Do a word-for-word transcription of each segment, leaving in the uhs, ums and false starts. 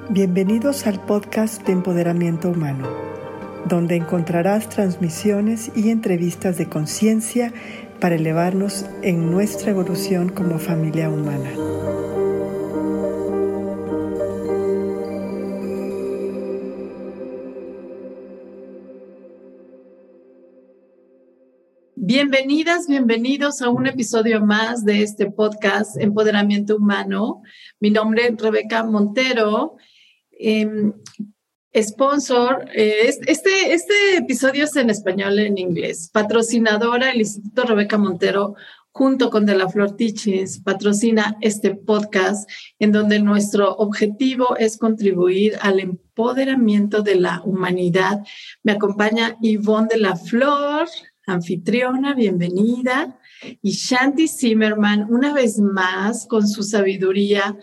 Bienvenidos al podcast de Empoderamiento Humano, donde encontrarás transmisiones y entrevistas de conciencia para elevarnos en nuestra evolución como familia humana. Bienvenidas, bienvenidos a un episodio más de este podcast Empoderamiento Humano. Mi nombre es Rebeca Montero, eh, sponsor. Eh, este, este episodio es en español y en inglés. Patrocinadora el Instituto Rebeca Montero, junto con De la Flor Teachings, patrocina este podcast en donde nuestro objetivo es contribuir al empoderamiento de la humanidad. Me acompaña Ivonne de la Flor, anfitriona, bienvenida, y Shanti Zimmerman, una vez más, con su sabiduría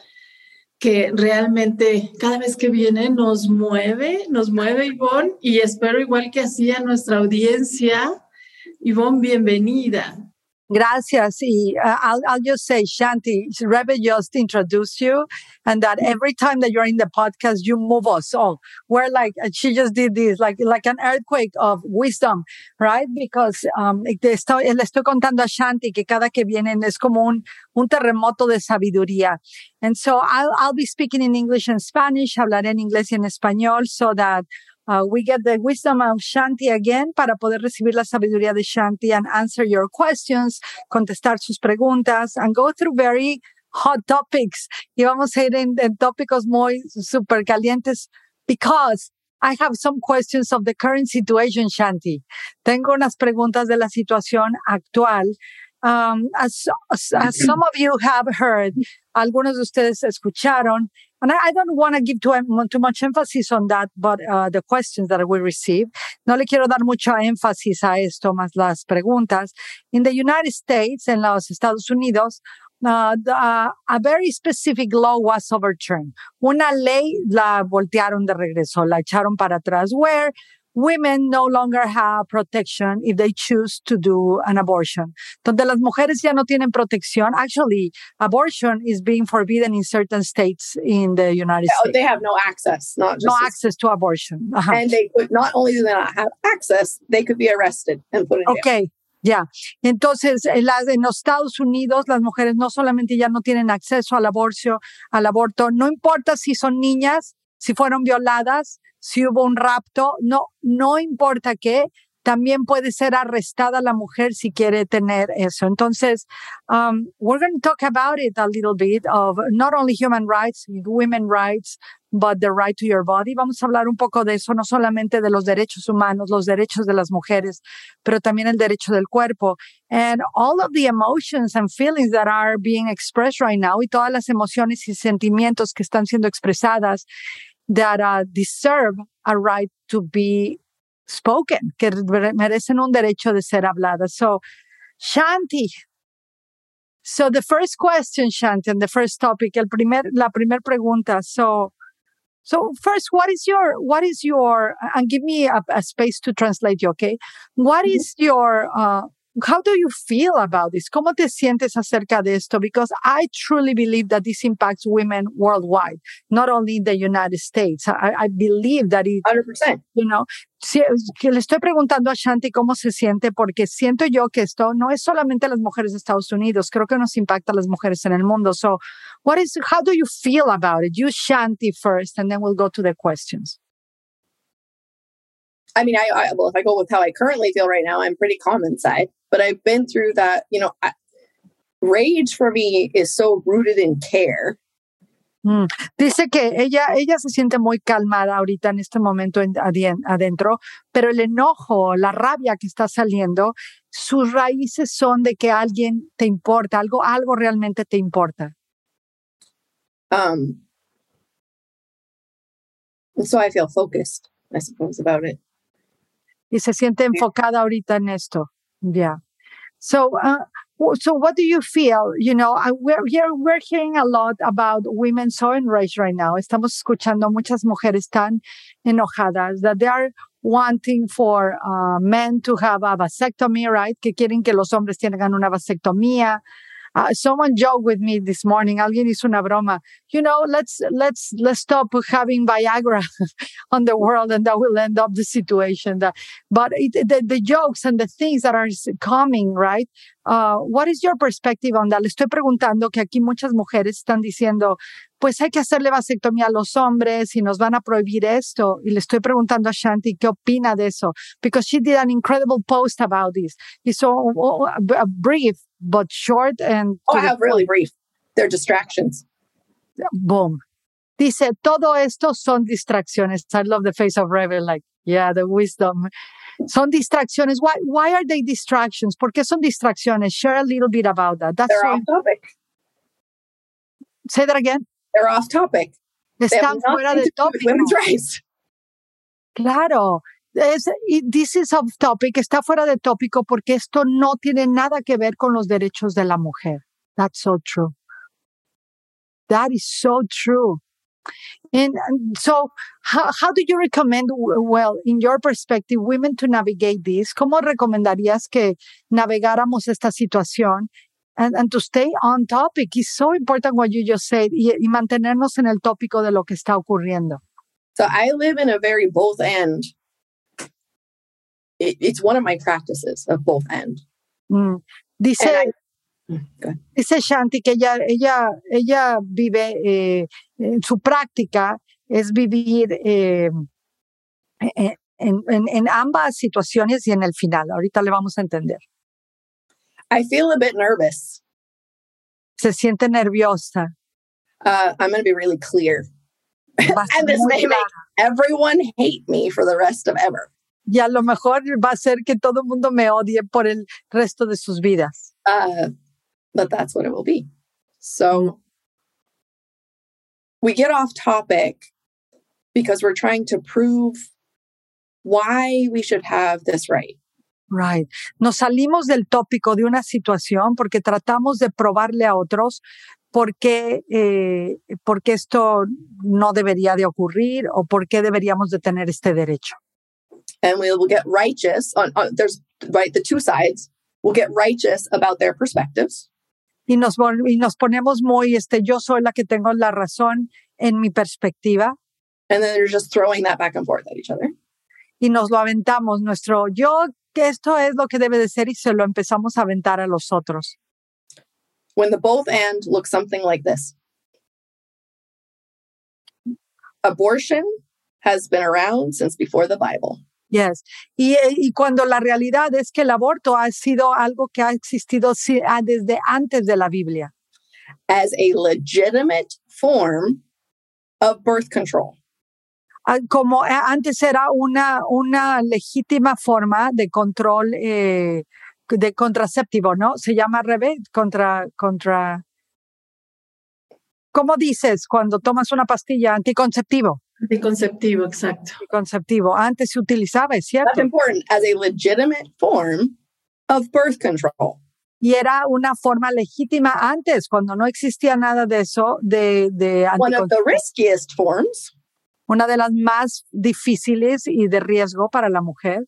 que realmente cada vez que viene nos mueve, nos mueve, Ivonne, y espero igual que así a nuestra audiencia. Ivonne, bienvenida. Gracias. Y, uh, I'll, I'll just say, Shanti, Rebe just introduced you, and that every time that you're in the podcast, you move us all. We're like, she just did this, like, like an earthquake of wisdom, right? Because um, te estoy, le estoy contando a Shanti que cada que vienen es como un, un terremoto de sabiduría. And so I'll, I'll be speaking in English and Spanish, hablaré en inglés y en español, so that Uh, we get the wisdom of Shanti again para poder recibir la sabiduría de Shanti and answer your questions, contestar sus preguntas, and go through very hot topics. Y vamos a ir en, en tópicos muy super calientes because I have some questions of the current situation, Shanti. Tengo unas preguntas de la situación actual. Um, as, as, as some of you have heard, algunos de ustedes escucharon, and I, I don't want to give too, too much emphasis on that, but uh, the questions that we receive. No le quiero dar mucho énfasis a esto, más las preguntas. In the United States, en los Estados Unidos, uh, the, uh, a very specific law was overturned. Una ley la voltearon de regreso, la echaron para atrás, where women no longer have protection if they choose to do an abortion. Donde las mujeres ya no tienen protección. Actually, abortion is being forbidden in certain states in the United oh, States. They have no access, not just no access to abortion. Uh-huh. And they could not only do they not have access, they could be arrested and put in jail. Okay. Ya, yeah. Entonces en, las, en los Estados Unidos las mujeres no solamente ya no tienen acceso al aborto, al aborto, no importa si son niñas, si fueron violadas, si hubo un rapto, no, no importa qué, también puede ser arrestada la mujer si quiere tener eso. Entonces, um, we're going to talk about it a little bit of not only human rights, women rights, but the right to your body. Vamos a hablar un poco de eso, no solamente de los derechos humanos, los derechos de las mujeres, pero también el derecho del cuerpo. And all of the emotions and feelings that are being expressed right now, y todas las emociones y sentimientos que están siendo expresadas, that uh, deserve a right to be spoken, que merecen un derecho de ser habladas. So, Shanti. So the first question, Shanti, and the first topic, el primer, la primer pregunta. So, so first, what is your, what is your, and give me a, a space to translate you, okay? What is your, uh, how do you feel about this? ¿Cómo te sientes acerca de esto? Because I truly believe that this impacts women worldwide, not only in the United States. I, I believe that it, one hundred percent. You know, si, que le estoy preguntando a Shanti cómo se siente, porque siento yo que esto no es solamente las mujeres de Estados Unidos, creo que nos impacta a las mujeres en el mundo. So, what is, how do you feel about it? You, Shanti, first, and then we'll go to the questions. I mean, I, I well, if I go with how I currently feel right now, I'm pretty calm inside. But I've been through that, you know, I, rage for me is so rooted in care. Mm. Dice que ella, ella se siente muy calmada ahorita en este momento en, adentro, pero el enojo, la rabia que está saliendo, sus raíces son de que alguien te importa, algo, algo realmente te importa. Um, and so I feel focused, I suppose, about it. Y se siente enfocada ahorita en esto. Yeah. So, uh, so what do you feel? You know, uh, we're here, we're hearing a lot about women so enraged right now. Estamos escuchando muchas mujeres tan enojadas that they are wanting for uh, men to have a vasectomy, right? Que quieren que los hombres tengan una vasectomía. Uh, someone joked with me this morning. Alguien hizo una broma. You know, let's let's let's stop having Viagra on the world, and that will end up the situation. That, but it, the the jokes and the things that are coming, right? Uh, what is your perspective on that? Le estoy preguntando que aquí muchas mujeres están diciendo, pues hay que hacerle vasectomía a los hombres y nos van a prohibir esto. Y le estoy preguntando a Shanti qué opina de eso, because she did an incredible post about this. It's so uh, brief but short and. Oh, I have really brief. They're distractions. Boom. Dice, todo esto son distracciones. I love the face of Rebel, like, yeah, the wisdom. Son distracciones. Why why are they distractions? ¿Por qué son distracciones? Share a little bit about that. That's They're so, off topic. Say that again. They're off topic. Están fuera de tópico. Women's rights. Claro. Es, this is off topic. Está fuera de tópico porque esto no tiene nada que ver con los derechos de la mujer. That's so true. That is so true. And so, how, how do you recommend, well, in your perspective, women to navigate this? ¿Cómo recomendarías que navegáramos esta situación? And, and to stay on topic. It's so important what you just said. Y, y mantenernos en el tópico de lo que está ocurriendo. So I live in a very both end. It, it's one of my practices of both end. Mm. Dice... I, Dice Shanti que ella, ella, ella vive, eh, en su práctica es vivir eh, en, en, en ambas situaciones y en el final. Ahorita le vamos a entender. I feel a bit nervous. Se siente nerviosa. Uh, I'm going to be really clear. And this may make everyone hate me for the rest of ever. Y a lo mejor va a ser que todo el mundo me odie por el resto de sus vidas. Uh, But that's what it will be. So we get off topic because we're trying to prove why we should have this right. Right. Nos salimos del tópico de una situación porque tratamos de probarle a otros por qué, eh, por qué esto no debería de ocurrir o por qué deberíamos de tener este derecho. And we will get righteous on, on there's right the two sides. We'll get righteous about their perspectives. Y nos, y nos ponemos muy, este, yo soy la que tengo la razón en mi perspectiva. And then they're just throwing that back and forth at each other. Y nos lo aventamos, nuestro yo, que esto es lo que debe de ser, y se lo empezamos a aventar a los otros. When the both and looks something like this. Abortion has been around since before the Bible. Yes. Y, y cuando la realidad es que el aborto ha sido algo que ha existido desde antes de la Biblia. As a legitimate form of birth control. Como antes era una, una legítima forma de control eh, de contraceptivo, ¿no? Se llama Rebe, contra, contra. ¿Cómo dices cuando tomas una pastilla? Anticonceptivo. Anticonceptivo, exacto. Anticonceptivo. Antes se utilizaba, ¿es cierto? That's important. As a legitimate form of birth control. Y era una forma legítima antes, cuando no existía nada de eso, de, de One of the riskiest forms. Una de las más difíciles y de riesgo para la mujer.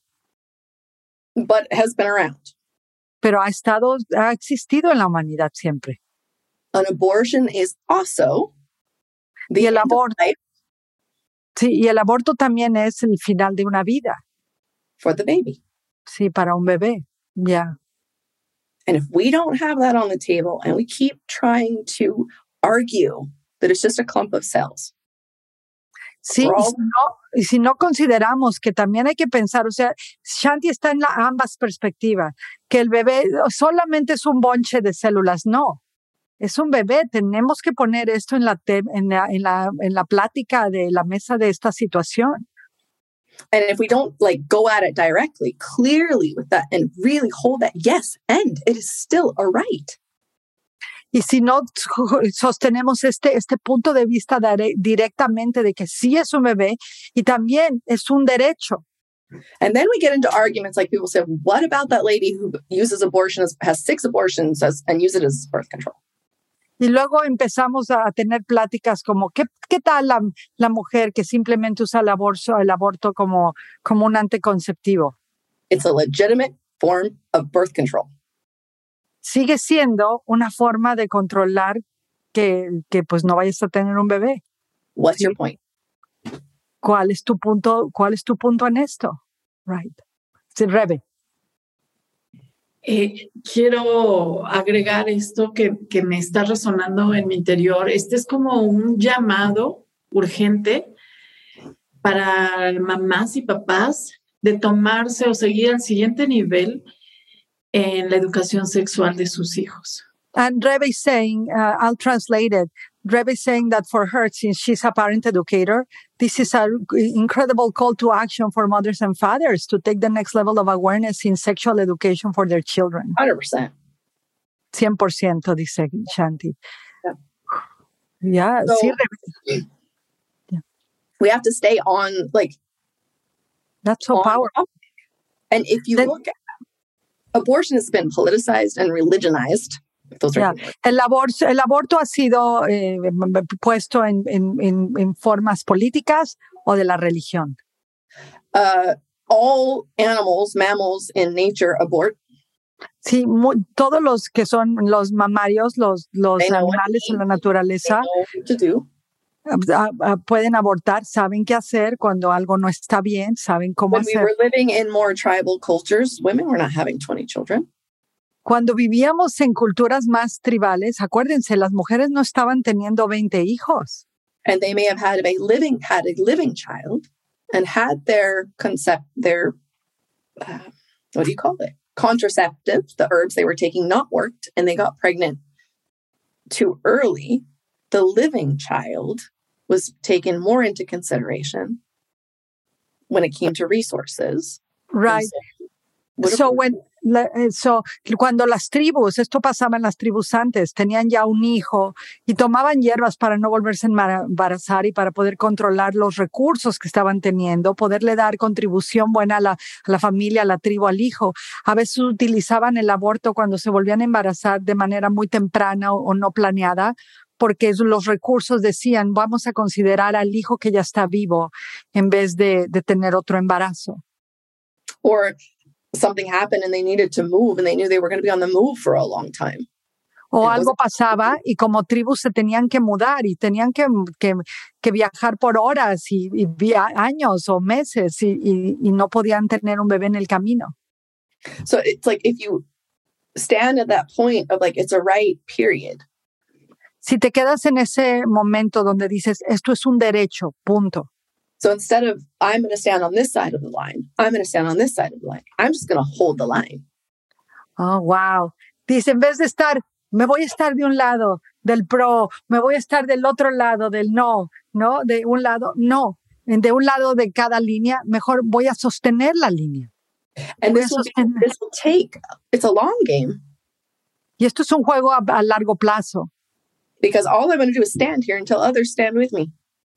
But has been around. Pero ha estado, ha existido en la humanidad siempre. An abortion is also the y el end aborto. of life. Sí, y el aborto también es el final de una vida. For the baby. Sí, para un bebé. Ya. Yeah. And if we don't have that on the table and we keep trying to argue that it's just a clump of cells. Sí, y si, no, y si no consideramos que también hay que pensar, o sea, Shanti está en la, ambas perspectivas, que el bebé solamente es un bonche de células, no. Es un bebé, tenemos que poner esto en la, te, en, la, en, la, en la plática de la mesa de esta situación. And if we don't like go at it directly, clearly with that and really hold that, yes, and it is still a right. Y si no sostenemos este, este punto de vista de, directamente de que sí es un bebé y también es un derecho. And then we get into arguments like people say, what about that lady who uses abortion, as, has six abortions as, and uses it as birth control? Y luego empezamos a tener pláticas como, ¿qué, qué tal la, la mujer que simplemente usa el aborto, el aborto como, como un anticonceptivo? It's a legitimate form of birth control. sigue siendo una forma de controlar que, que pues no vayas a tener un bebé. What's your point? ¿Cuál es tu punto, cuál es tu punto en esto? Right. Sí, Rebe. Eh, quiero agregar esto que, que me está resonando en mi interior. Este es como un llamado urgente para mamás y papás de tomarse o seguir al siguiente nivel en la educación sexual de sus hijos. And Rebe is saying, uh, I'll translate it. Rebe is saying that for her, since she's a parent educator, this is an incredible call to action for mothers and fathers to take the next level of awareness in sexual education for their children. one hundred percent. cien por ciento, dice Shanti. Yeah, yeah so, sí, Rebe. Yeah. We have to stay on, like, that's so powerful. And if you then, look at abortion has been politicized and religionized. Yeah. El, aborto, el aborto ha sido eh, puesto en, en, en, en formas políticas o de la religión. Uh, all animals, mammals in nature abort. Sí, muy, todos los que son los mamarios, los, los animales en la naturaleza, uh, uh, pueden abortar, saben qué hacer cuando algo no está bien, saben cómo When hacer. We were living in more tribal cultures, women were not having twenty children. Cuando vivíamos en culturas más tribales, acuérdense, las mujeres no estaban teniendo veinte hijos. And they may have had a living had a living child and had their concept their uh, what do you call it? Contraceptive, the herbs they were taking not worked, and they got pregnant too early. The living child was taken more into consideration when it came to resources. Right. So, so when So, cuando las tribus, esto pasaba en las tribus antes, tenían ya un hijo y tomaban hierbas para no volverse a embarazar y para poder controlar los recursos que estaban teniendo, poderle dar contribución buena a la, a la familia, a la tribu, al hijo. A veces utilizaban el aborto cuando se volvían a embarazar de manera muy temprana o, o no planeada, porque los recursos decían, vamos a considerar al hijo que ya está vivo en vez de, de tener otro embarazo. Or something happened and they needed to move and they knew they were going to be on the move for a long time. O and algo pasaba y como tribus se tenían que mudar y tenían que, que, que viajar por horas y, y via- años o meses y, y, y no podían tener un bebé en el camino. So it's like if you stand at that point of like, it's a right period. Si te quedas en ese momento donde dices, esto es un derecho, punto. So instead of, I'm going to stand on this side of the line, I'm going to stand on this side of the line, I'm just going to hold the line. Oh, wow. Dice, en vez de estar, me voy a estar de un lado del pro, me voy a estar del otro lado del no, ¿no? De un lado, no. De un lado de cada línea, mejor voy a sostener la línea. And this will, be, this will take, it's a long game. Y esto es un juego a, a largo plazo. Because all I'm going to do is stand here until others stand with me.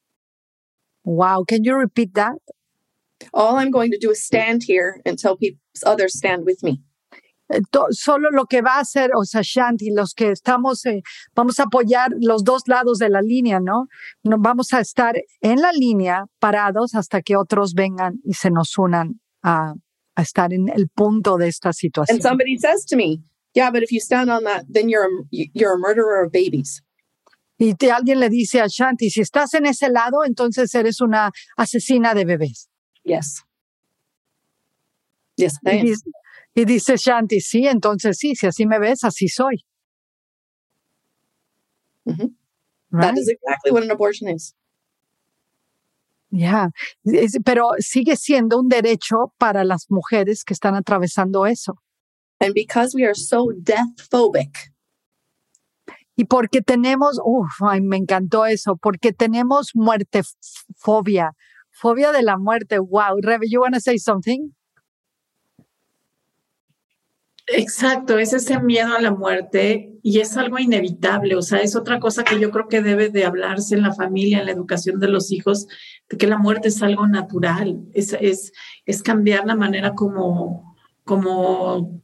Wow, can you repeat that? All I'm going to do is stand here until people, others stand with me. Solo lo que va a hacer, o sea, Shanti, los que estamos, eh, vamos a apoyar los dos lados de la línea, ¿no? Nos vamos a estar en la línea parados hasta que otros vengan y se nos unan a, a estar en el punto de esta situación. And somebody says to me, yeah, but if you stand on that, then you're a, you're a murderer of babies. Y te, alguien le dice a Shanti, si estás en ese lado, entonces eres una asesina de bebés. Yes. Yes, I am. Y dice, y dice Shanti, sí, entonces sí, si así me ves, así soy. Mm-hmm. Right? That is exactly what an abortion is. Yeah. Es, pero sigue siendo un derecho para las mujeres que están atravesando eso. And because we are so death phobic. Y porque tenemos, uff, ay, me encantó eso, porque tenemos muerte fobia, fobia de la muerte. Wow, Rebe, you want to say something? Exacto, es ese miedo a la muerte y es algo inevitable, o sea, es otra cosa que yo creo que debe de hablarse en la familia, en la educación de los hijos, de que la muerte es algo natural, es, es, es cambiar la manera como, como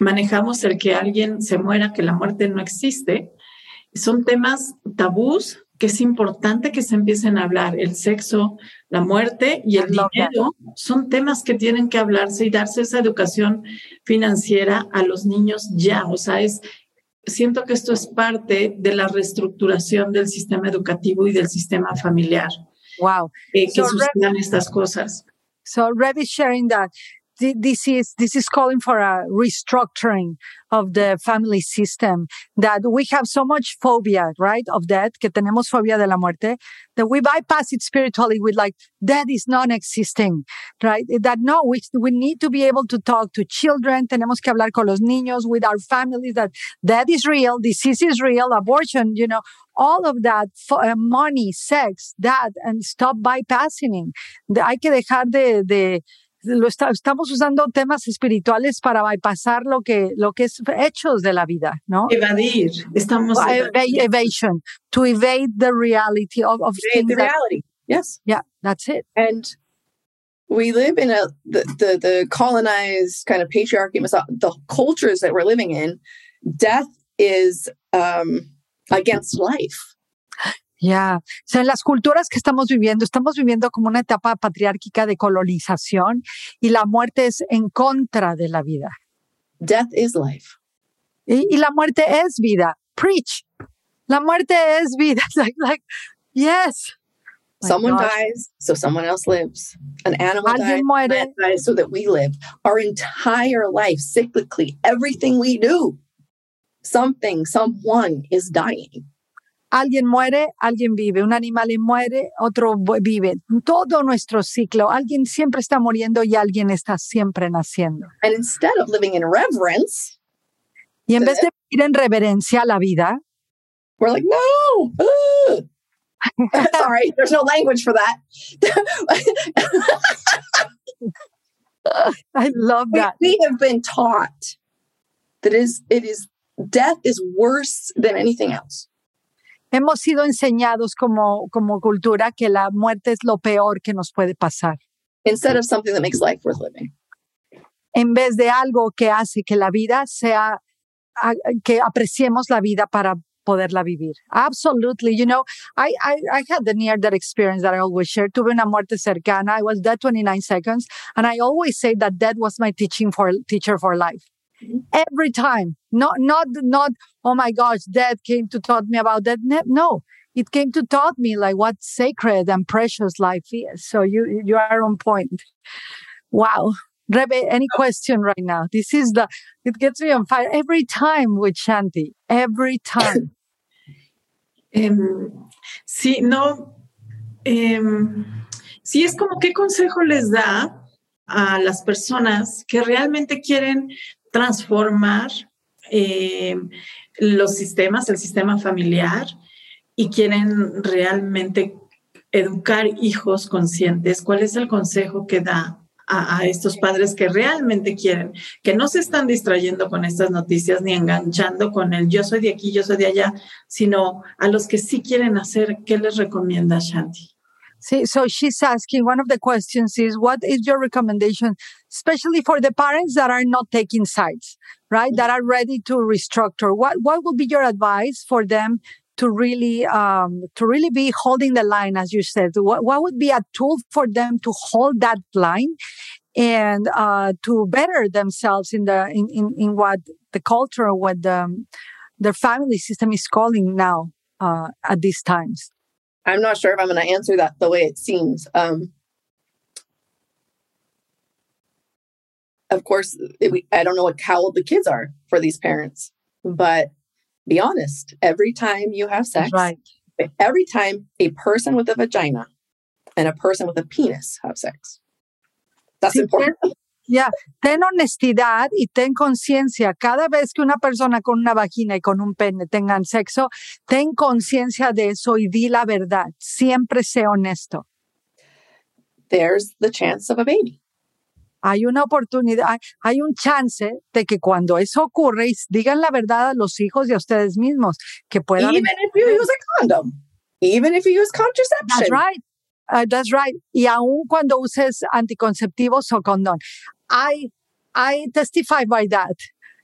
manejamos el que alguien se muera, que la muerte no existe. Son temas tabús que es importante que se empiecen a hablar. El sexo, la muerte y el dinero son temas que tienen que hablarse y darse esa educación financiera a los niños ya. O sea, es, siento que esto es parte de la reestructuración del sistema educativo y del sistema familiar. Wow. Eh, que So, sucedan estas cosas. So Rev is sharing that this is this is calling for a restructuring of the family system, that we have so much phobia, right, of death, que tenemos fobia de la muerte, that we bypass it spiritually with like, death is non-existing, right? That no, we, we need to be able to talk to children, tenemos que hablar con los niños, with our families, that death is real, disease is real, abortion, you know, all of that, uh, money, sex, that, and stop bypassing. De, hay que dejar de, de Lo está, estamos usando temas espirituales para bypassar lo que, lo que es hechos de la vida, ¿no? Evadir. Estamos Eva- evasion. To evade the reality of, of Evade things. the that- reality. Yes. yeah, that's it. And we live in a the the, the colonized kind of patriarchy, miso- the cultures that we're living in. Death is um, against life. Ya, o sea, en las culturas que estamos viviendo, estamos viviendo como una etapa patriárquica de colonización y la muerte es en contra de la vida. Death is life. Y, y la muerte es vida. Preach. La muerte es vida. It's like, like, yes. My Someone gosh. dies, so someone else lives. An animal Alguien dies, muere. plant dies, so that we live. Our entire life, cyclically, everything we do, something, someone is dying. Alguien muere, alguien vive. Un animal muere, otro vive. Todo nuestro ciclo. Alguien siempre está muriendo y alguien está siempre naciendo. And instead of living in reverence, Y en vez de vivir en reverencia a la vida, we're like, no. Ugh. Sorry, there's no language for that. I love we, that. we have been taught that is it is death is worse than anything else. Hemos sido enseñados como, como cultura que la muerte es lo peor que nos puede pasar, Instead of something that makes life worth living. en vez de algo que hace que la vida sea, a- que apreciemos la vida para poderla vivir. Absolutely. You know, I, I, I had the near-death experience that I always share. Tuve una muerte cercana. I was dead twenty-nine seconds. And I always say that death was my teaching for teacher for life. Every time. Not, not, not, oh my gosh, death came to taught me about that. Ne- No, it came to taught me like what sacred and precious life is. So you, you are on point. Wow. Rebe, any question right now? This is the, it gets me on fire every time with Shanti. Every time. Em, sí, no. em, sí, es como qué consejo les da a las personas que realmente quieren transformar eh, los sistemas, el sistema familiar, y quieren realmente educar hijos conscientes. ¿Cuál es el consejo que da a, a estos padres que realmente quieren, que no se están distrayendo con estas noticias ni enganchando con el yo soy de aquí, yo soy de allá, sino a los que sí quieren hacer? ¿Qué les recomienda Shanti? See, so she's asking, one of the questions is, what is your recommendation, especially for the parents that are not taking sides, right? That are ready to restructure. What, what would be your advice for them to really, um, to really be holding the line, as you said? What, what would be a tool for them to hold that line and, uh, to better themselves in the, in, in, in what the culture, what the, their family system is calling now, uh, at these times? I'm not sure if I'm going to answer that the way it seems. Um, of course, it, we, I don't know what how old the kids are for these parents, but be honest. Every time you have sex, Right. every time a person with a vagina and a person with a penis have sex, that's Sí, important. Ya, ten honestidad y ten conciencia. Cada vez que una persona con una vagina y con un pene tengan sexo, ten conciencia de eso y di la verdad. Siempre sé honesto. There's the chance of a baby. Hay una oportunidad, hay, hay un chance de que cuando eso ocurre, y digan la verdad a los hijos y a ustedes mismos, que pueda Even haber- if you use a condom, even if you use contraception. That's right. Uh, that's right. Y aun cuando uses anticonceptivos o condón. I, I testify by that.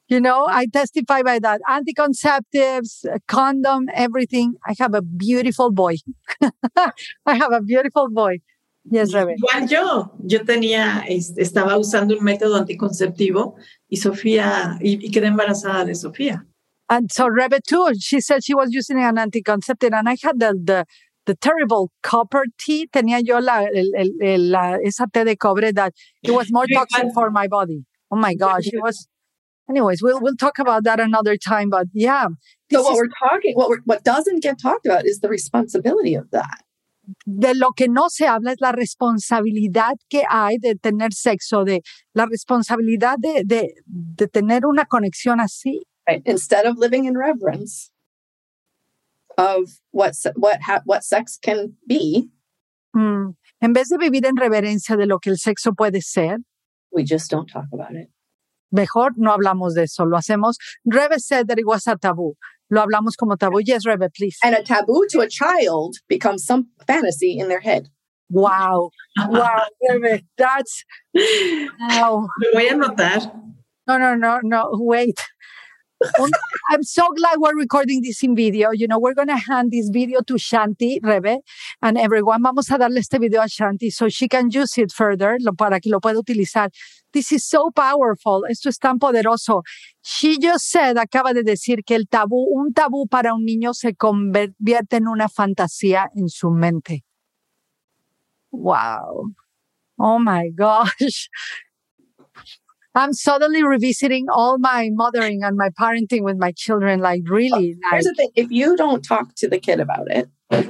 You know, I testify by that. Anticonceptives, condom, everything. I have a beautiful boy. I have a beautiful boy. Yes, Rebe. Igual yo. Yo tenía, estaba usando un método anticonceptivo y Sofía, y, y quedé embarazada de Sofía. And so Rebe too, she said she was using an anticonceptive, and I had the the, the terrible copper tea. Tenía yo la, el, el, el, la esa té de cobre that it was more toxic for my body. Oh my gosh, it was. Anyways, we'll we'll talk about that another time. But yeah. So what is, we're talking, what we're, what doesn't get talked about is the responsibility of that. De lo que no se habla es la responsabilidad que hay de tener sexo, de la responsabilidad de de, de tener una conexión así. Right. Instead of living in reverence of what what ha, what sex can be, mm. en vez de vivir en reverencia de lo que el sexo puede ser, we just don't talk about it. Mejor no hablamos de eso, lo hacemos. Rebe said that it was a taboo. Lo hablamos como tabú. Yes, Rebe, please. And a taboo to a child becomes some fantasy in their head. Wow. Wow, Rebe, that's... Wow. Lo voy a anotar. No, no, no, no, wait. I'm so glad we're recording this in video. You know, we're going to hand this video to Shanti, Rebe, and everyone. Vamos a darle este video a Shanti so she can use it further, lo, para que lo pueda utilizar. This is so powerful. Esto es tan poderoso. She just said, acaba de decir que el tabú, un tabú para un niño se convierte en una fantasía en su mente. Wow. Oh my gosh. I'm suddenly revisiting all my mothering and my parenting with my children. Like, really. Here's like, the thing. If you don't talk to the kid about it.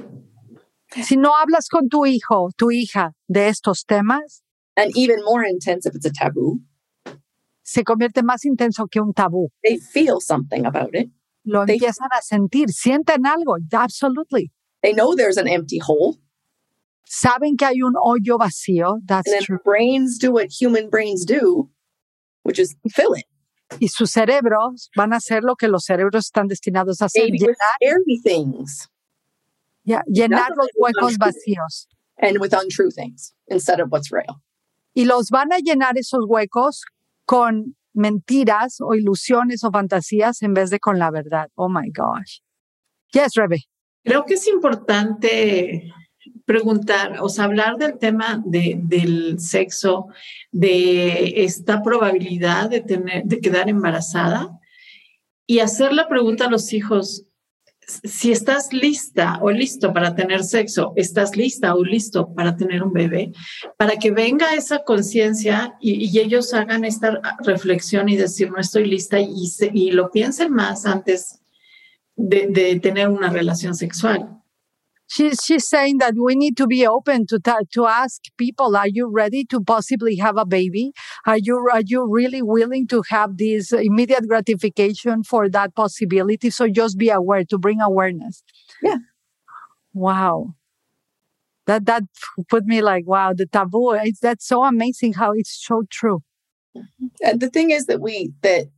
Si no hablas con tu hijo, tu hija, de estos temas. And even more intense if it's a taboo. Se convierte más intenso que un tabú. They feel something about it. Lo they, empiezan a sentir. Sienten algo. Absolutely. They know there's an empty hole. Saben que hay un hoyo vacío. That's and then true. Brains do what human brains do, which is fill it. Y sus cerebros van a hacer lo que los cerebros están destinados a hacer. Maybe with scary things. Yeah, llenar los huecos vacíos. And with untrue things instead of what's real. Y los van a llenar esos huecos con mentiras o ilusiones o fantasías en vez de con la verdad. Oh my gosh. Yes, Rebe. Creo que es importante preguntar, o sea, hablar del tema de, del sexo, de esta probabilidad de tener, de quedar embarazada y hacer la pregunta a los hijos, si estás lista o listo para tener sexo, estás lista o listo para tener un bebé, para que venga esa conciencia y, y ellos hagan esta reflexión y decir, no estoy lista y, se, y lo piensen más antes de, de tener una relación sexual. She's, she's saying that we need to be open to ta- to ask people, are you ready to possibly have a baby? Are you are you really willing to have this immediate gratification for that possibility? So just be aware, to bring awareness. Yeah. Wow. That that put me like, wow, the taboo. It's, that's so amazing how it's so true. And the thing is that we, that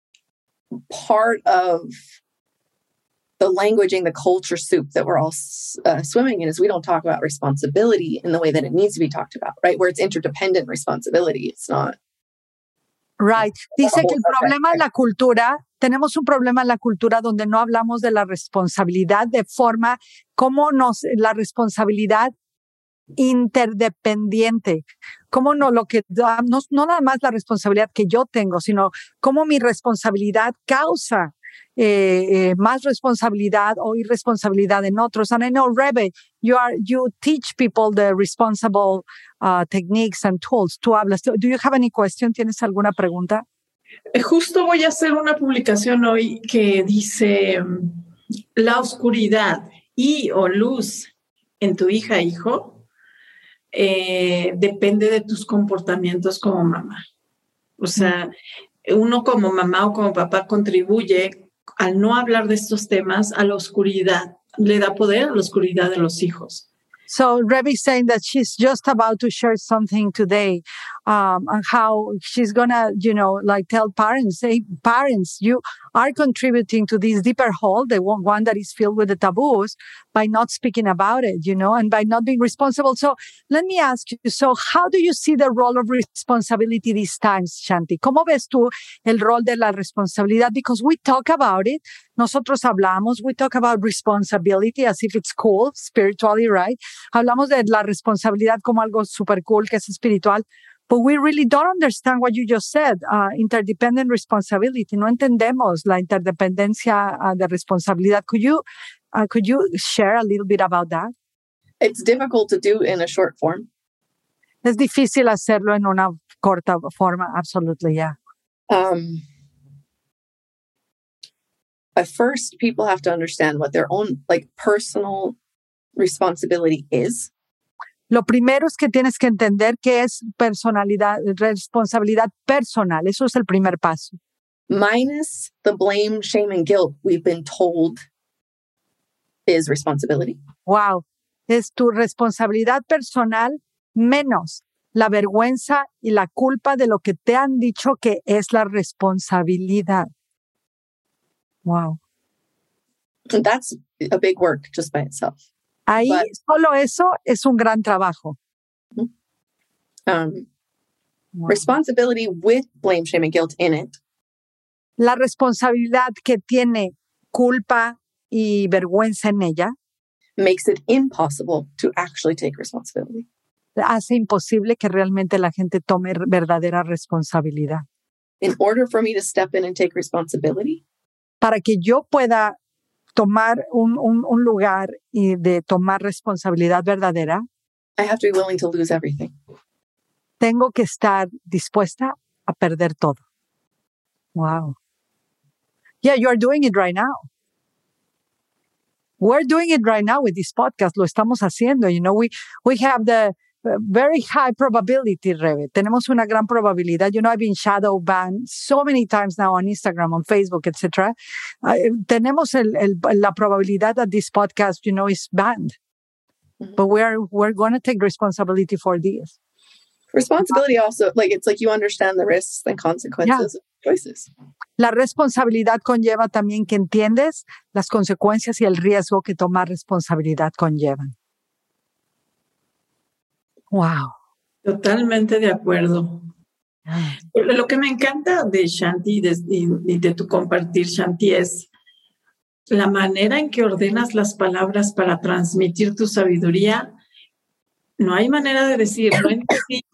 part of the languaging, the culture soup that we're all uh, swimming in is we don't talk about responsibility in the way that it needs to be talked about, right? Where it's interdependent responsibility. It's not. Right. Dice que el problema en la cultura, tenemos un problema en la cultura donde no hablamos de la responsabilidad de forma como nos, la responsabilidad interdependiente. Cómo no, lo que, no, no nada más la responsabilidad que yo tengo, sino cómo mi responsabilidad causa Eh, eh, más responsabilidad o irresponsabilidad en otros. And I know, Rebe, you are you teach people the responsible uh, techniques and tools. Tú hablas. Do you have any question? ¿Tienes alguna pregunta? Justo voy a hacer una publicación hoy que dice la oscuridad y o luz en tu hija, hijo, eh, depende de tus comportamientos como mamá. O sea, uno como mamá o como papá contribuye al no hablar de estos temas a la oscuridad, le da poder a la oscuridad de los hijos. So Rebe is saying that she's just about to share something today um, and how she's gonna, you know, like tell parents, hey, parents, you are contributing to this deeper hole, the one, one that is filled with the taboos, by not speaking about it, you know, and by not being responsible. So let me ask you, so how do you see the role of responsibility these times, Shanti? ¿Cómo ves tú el rol de la responsabilidad? Because we talk about it, nosotros hablamos, we talk about responsibility as if it's cool, spiritually, right? Hablamos de la responsabilidad como algo super cool, que es espiritual. But we really don't understand what you just said, uh, interdependent responsibility. No entendemos la interdependencia uh, de responsabilidad. Could you, uh, could you share a little bit about that? It's difficult to do in a short form. Es difícil hacerlo en una corta forma. Absolutely, yeah. Um, at first, people have to understand what their own like personal responsibility is. Lo primero es que tienes que entender qué es personalidad, responsabilidad personal. Eso es el primer paso. Minus the blame, shame, and guilt we've been told is responsibility. Wow. Es tu responsabilidad personal menos la vergüenza y la culpa de lo que te han dicho que es la responsabilidad. Wow. And that's a big work just by itself. Ahí But, solo eso es un gran trabajo. Um, Wow. Responsibility with blame, shame, and guilt in it. La responsabilidad que tiene culpa y vergüenza en ella Makes it impossible to actually take responsibility. hace imposible que realmente la gente tome verdadera responsabilidad. In order for me to step in and take responsibility, Para que yo pueda tomar un, un, un lugar y de tomar responsabilidad verdadera, I have to be willing to lose everything. tengo que estar dispuesta a perder todo. Wow. Yeah, you are doing it right now. We're doing it right now with this podcast. Lo estamos haciendo. You know, we, we have the uh, very high probability, Rebe. Tenemos una gran probabilidad. You know, I've been shadow banned so many times now on Instagram, on Facebook, et cetera. Uh, tenemos el, el, la probabilidad that this podcast, you know, is banned. Mm-hmm. But we're, we're going to take responsibility for this. Responsibility also, like, it's like you understand the risks and consequences Yeah. of choices. La responsabilidad conlleva también que entiendes las consecuencias y el riesgo que tomar responsabilidad conllevan. Wow. Totalmente de acuerdo. Lo que me encanta de Shanti de, y de tu compartir, Shanti, es la manera en que ordenas las palabras para transmitir tu sabiduría. No hay manera de decir, no entendí.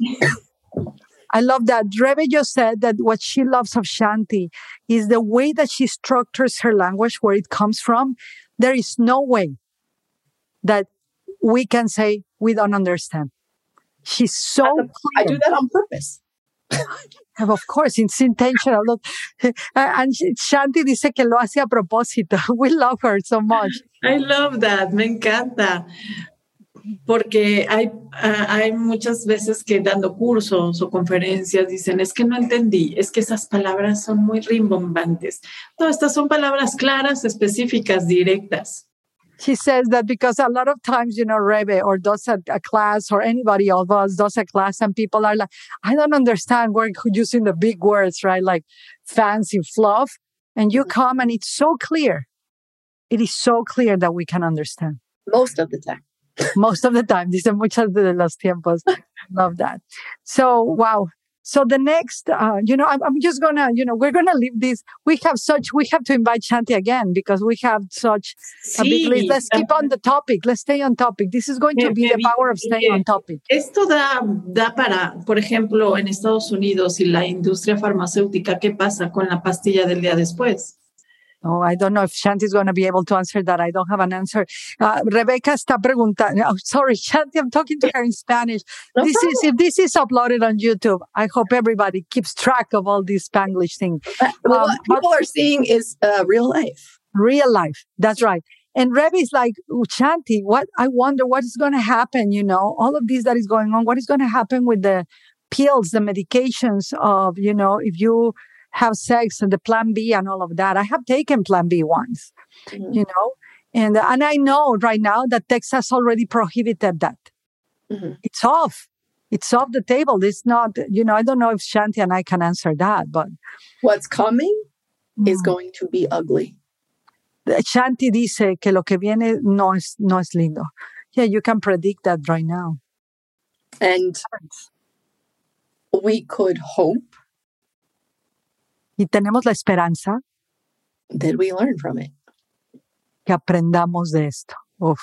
I love that. Rebe just said that what she loves of Shanti is the way that she structures her language, where it comes from. There is no way that we can say we don't understand. She's so clear. I do that on purpose. Of course, it's intentional. Look, and Shanti dice que lo hace a propósito. We love her so much. I love that. Me encanta. Porque hay, uh, hay muchas veces que dando cursos o conferencias dicen, es que no entendí, es que esas palabras son muy rimbombantes. No, estas son palabras claras, específicas, directas. She says that because a lot of times, you know, Rebe or does a, a class or anybody of us does a class and people are like, I don't understand. We're using the big words, right? Like fancy fluff. And you come and it's so clear. It is so clear that we can understand. Most of the time. Most of the time. Dice muchas de los tiempos. Love that. So, wow. So the next, uh, you know, I'm, I'm just gonna, you know, we're gonna leave this. We have such, we have to invite Shanti again because we have such sí, a big list. Let's keep on the topic. Let's stay on topic. This is going to be the power of staying on topic. Esto da, da para, por ejemplo, en Estados Unidos y la industria farmacéutica, ¿qué pasa con la pastilla del día después? Oh, I don't know if Shanti is going to be able to answer that. I don't have an answer. Uh, Rebecca está preguntando. Oh, sorry, Shanti, I'm talking to her in Spanish. No this problem. is if this is uploaded on YouTube. I hope everybody keeps track of all these Spanglish things. Uh, well, um, what people are seeing is uh, real life. Real life. That's right. And Rebe is like, Shanti, what? I wonder what is going to happen. You know, all of this that is going on. What is going to happen with the pills, the medications of, you know, if you have sex and the plan B and all of that. I have taken plan B once, mm-hmm. you know, and, and I know right now that Texas already prohibited that. Mm-hmm. It's off. It's off the table. It's not, you know, I don't know if Shanti and I can answer that, but what's coming mm. is going to be ugly. Shanti dice que lo que viene no es, no es lindo. Yeah, you can predict that right now. And we could hope. Y tenemos la esperanza. That we learn from it. Que aprendamos de esto. Uf.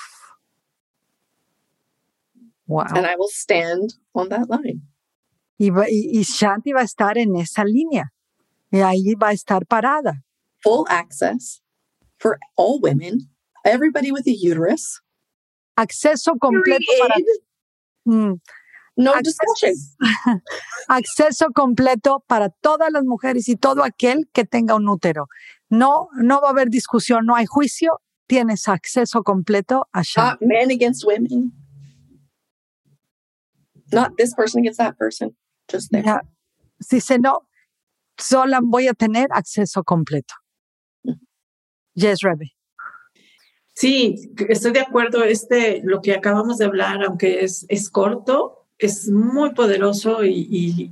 Wow. And I will stand on that line. Y, y, y Shanti va a estar en esa línea. Y ahí va a estar parada. Full access for all women, everybody with a uterus. Acceso completo para... Mm, no acceso, discussion. Acceso completo para todas las mujeres y todo aquel que tenga un útero. No, no va a haber discusión, no hay juicio. Tienes acceso completo a Shanti. Not men against women. Not this person against that person. Just there. Yeah. Dice, no, sola voy a tener acceso completo. Mm-hmm. Yes, Rebe. Sí, estoy de acuerdo. Este, lo que acabamos de hablar, aunque es, es corto, es muy poderoso y, y,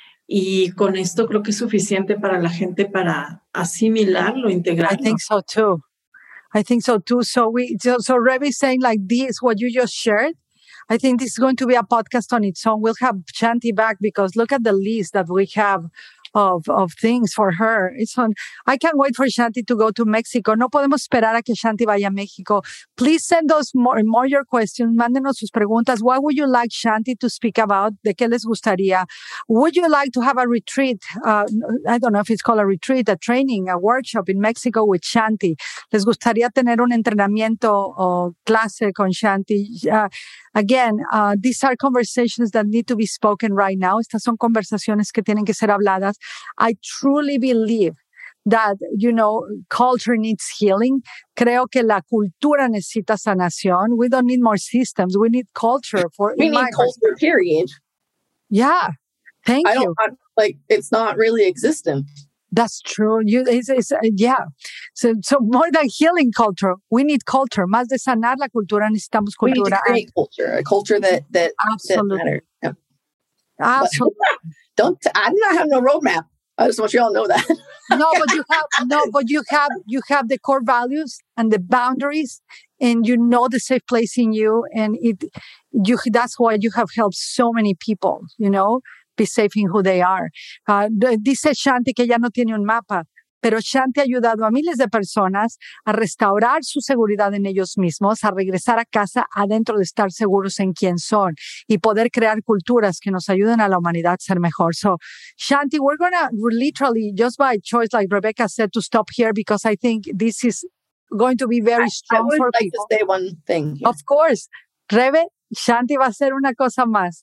y con esto creo que es suficiente para la gente para asimilarlo, integrarlo. I think so too. I think so too. So we, so, so Rebe is saying like this, what you just shared. I think this is going to be a podcast on its own. We'll have Shanti back because look at the list that we have of, of things for her. It's on. I can't wait for Shanti to go to Mexico. No podemos esperar a que Shanti vaya a México. Please send us more, more your questions. Mándenos sus preguntas. What would you like Shanti to speak about? ¿De qué les gustaría? Would you like to have a retreat? Uh, I don't know if it's called a retreat, a training, a workshop in Mexico with Shanti. ¿Les gustaría tener un entrenamiento o clase con Shanti? Uh, Again, uh, these are conversations that need to be spoken right now. Estas son conversaciones que tienen que ser habladas. I truly believe that, you know, culture needs healing. Creo que la cultura necesita sanación. We don't need more systems. We need culture. For We need culture, period. Yeah. Thank I you. don't, I, like, it's not really existent. That's true. You, it's, it's, uh, yeah. So, so more than healing culture, we need culture. Más de sanar la cultura, necesitamos cultura. We need to create culture, a culture that that, Absolutely. that matters. Yeah. Absolutely. Don't. I do not have no roadmap. I just want you all to know that. no, but you have no, but you have you have the core values and the boundaries, and you know the safe place in you, and it you. That's why you have helped so many people. You know. Be safe in who they are. Uh, dice Shanti que ya no tiene un mapa, pero Shanti ha ayudado a miles de personas a restaurar su seguridad en ellos mismos, a regresar a casa adentro de estar seguros en quién son y poder crear culturas que nos ayuden a la humanidad a ser mejor. So, Shanti, we're going to literally, just by choice, like Rebecca said, to stop here because I think this is going to be very strong I would for like people. to say one thing here. Of course. Rebe, Shanti va a hacer una cosa más.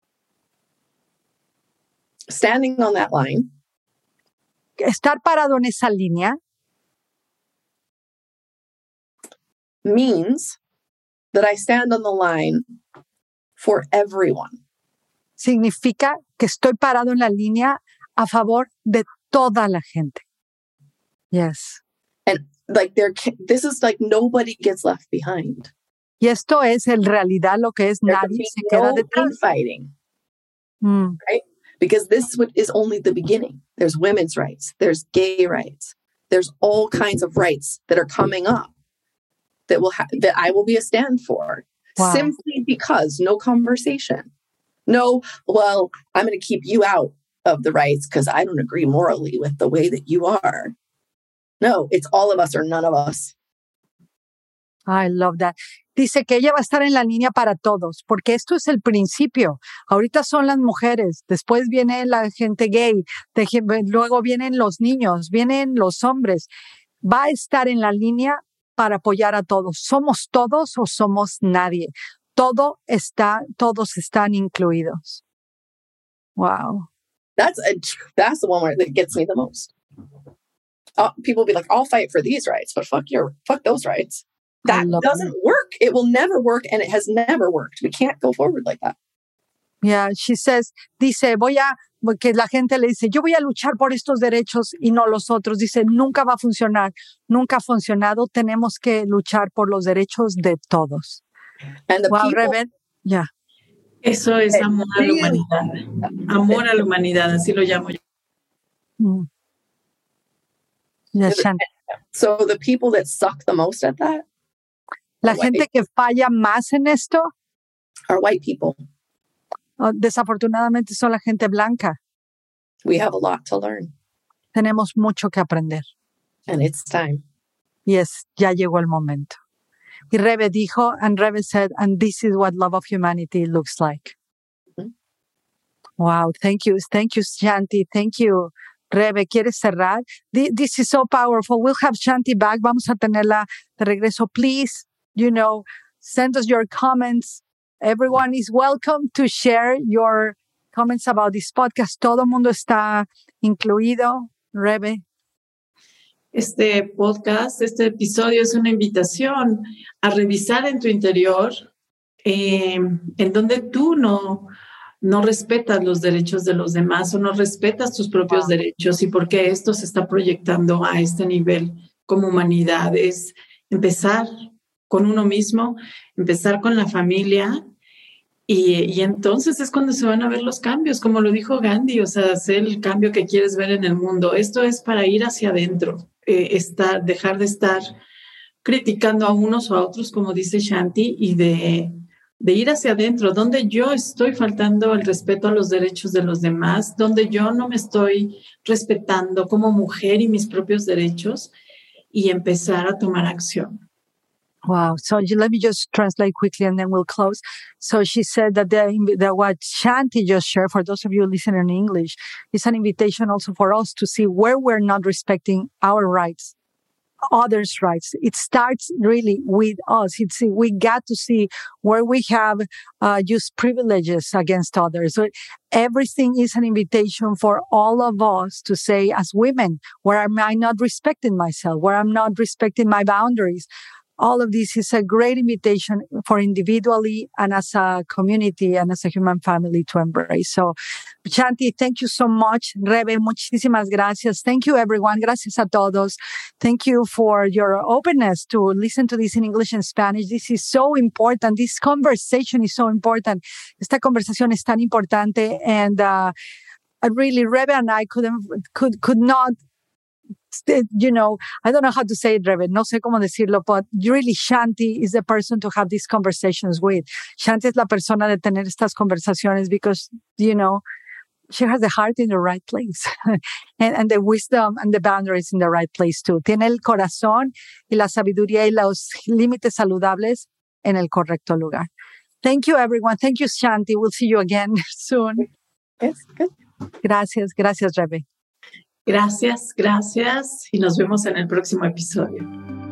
Standing on that line. Estar parado en esa línea. Means that I stand on the line for everyone. Significa que estoy parado en la línea a favor de toda la gente. Yes. And like there, this is like nobody gets left behind. Y esto es en realidad lo que es There nadie se queda no detrás. fighting. Mm. Right? Because this is only the beginning. There's women's rights. There's gay rights. There's all kinds of rights that are coming up that will ha- that I will be a stand for. Wow. Simply because no conversation. No, well, I'm going to keep you out of the rights because I don't agree morally with the way that you are. No, it's all of us or none of us. I love that. Dice que ella va a estar en la línea para todos, porque esto es el principio. Ahorita son las mujeres, después viene la gente gay, de, luego vienen los niños, vienen los hombres. Va a estar en la línea para apoyar a todos. ¿Somos todos o somos nadie? Todo está, todos están incluidos. Wow. That's a, that's the one where that gets me the most. Uh, people will be like, I'll fight for these rights, but fuck your, fuck those rights. That doesn't it. work. It will never work, and it has never worked. We can't go forward like that. Yeah, she says, dice, voy a, que la gente le dice, yo voy a luchar por estos derechos y no los otros. Dice, nunca va a funcionar. Nunca ha funcionado. Tenemos que luchar por los derechos de todos. And the wow, people, Rebe, yeah. Eso es amor a la humanidad. Amor a la humanidad, así lo llamo yo. Mm. Yes, Shanti. So the people that suck the most at that La gente que falla más en esto are white people. oh, desafortunadamente son la gente blanca. We have a lot to learn. Tenemos mucho que aprender. And it's time. Y es, ya llegó el momento. Y Rebe dijo, and Rebe said, and this is what love of humanity looks like. Mm-hmm. Wow, thank you. Thank you, Shanti. Thank you, Rebe. ¿Quieres cerrar? This is so powerful. We'll have Shanti back. Vamos a tenerla de regreso. Please, you know, send us your comments. Everyone is welcome to share your comments about this podcast. Todo el mundo está incluido. Rebe. Este podcast, este episodio es una invitación a revisar en tu interior eh, en donde tú no, no respetas los derechos de los demás o no respetas tus propios wow. derechos y por qué esto se está proyectando a este nivel como humanidad. Es empezar con uno mismo, empezar con la familia y, y entonces es cuando se van a ver los cambios, como lo dijo Gandhi, o sea, hacer el cambio que quieres ver en el mundo. Esto es para ir hacia adentro. Eh, estar, dejar de estar criticando a unos o a otros, como dice Shanti, y de, de ir hacia adentro, donde yo estoy faltando el respeto a los derechos de los demás, donde yo no me estoy respetando como mujer y mis propios derechos, y empezar a tomar acción. Wow. So let me just translate quickly and then we'll close. So she said that, the, that what Shanti just shared, for those of you listening in English, is an invitation also for us to see where we're not respecting our rights, others' rights. It starts really with us. It's, we got to see where we have uh, used privileges against others. So everything is an invitation for all of us to say, as women, where am I not respecting myself? Where I'm not respecting my boundaries? All of this is a great invitation for individually and as a community and as a human family to embrace. So, Shanti, thank you so much. Rebe, muchísimas gracias. Thank you, everyone. Gracias a todos. Thank you for your openness to listen to this in English and Spanish. This is so important. This conversation is so important. Esta conversación es tan importante. And uh, really, Rebe and I couldn't, could, could not you know, I don't know how to say it, Rebe, no sé cómo decirlo, but really Shanti is the person to have these conversations with. Shanti es la persona de tener estas conversaciones because, you know, she has the heart in the right place and, and the wisdom and the boundaries in the right place too. Tiene el corazón y la sabiduría y los límites saludables en el correcto lugar. Thank you, everyone. Thank you, Shanti. We'll see you again soon. Yes, good. Gracias, gracias, Rebe. Gracias, gracias y nos vemos en el próximo episodio.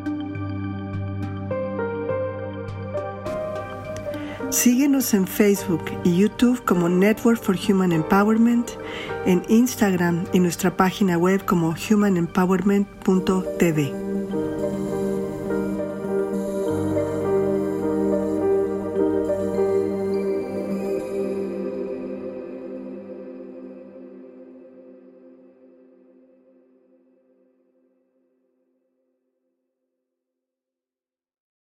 Síguenos en Facebook y YouTube como Network for Human Empowerment, en Instagram y nuestra página web como human empowerment punto t v.